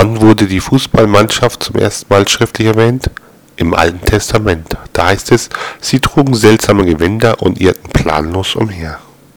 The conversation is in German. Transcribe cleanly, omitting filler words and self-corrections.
Wann wurde die Fußballmannschaft zum ersten Mal schriftlich erwähnt? Im Alten Testament. Da heißt es, sie trugen seltsame Gewänder und irrten planlos umher.